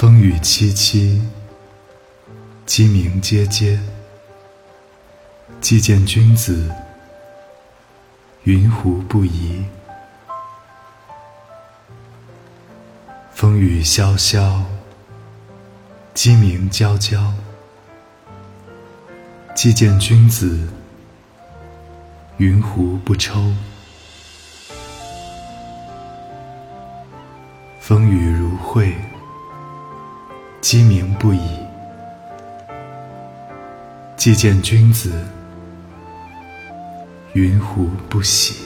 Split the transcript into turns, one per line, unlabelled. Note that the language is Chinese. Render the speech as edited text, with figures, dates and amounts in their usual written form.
风雨凄凄，鸡鸣喈喈。既见君子，云胡不疑？风雨萧萧，鸡鸣啾啾。既见君子，云胡不抽？风雨如晦，鸡鸣不已。既见君子，云胡不喜？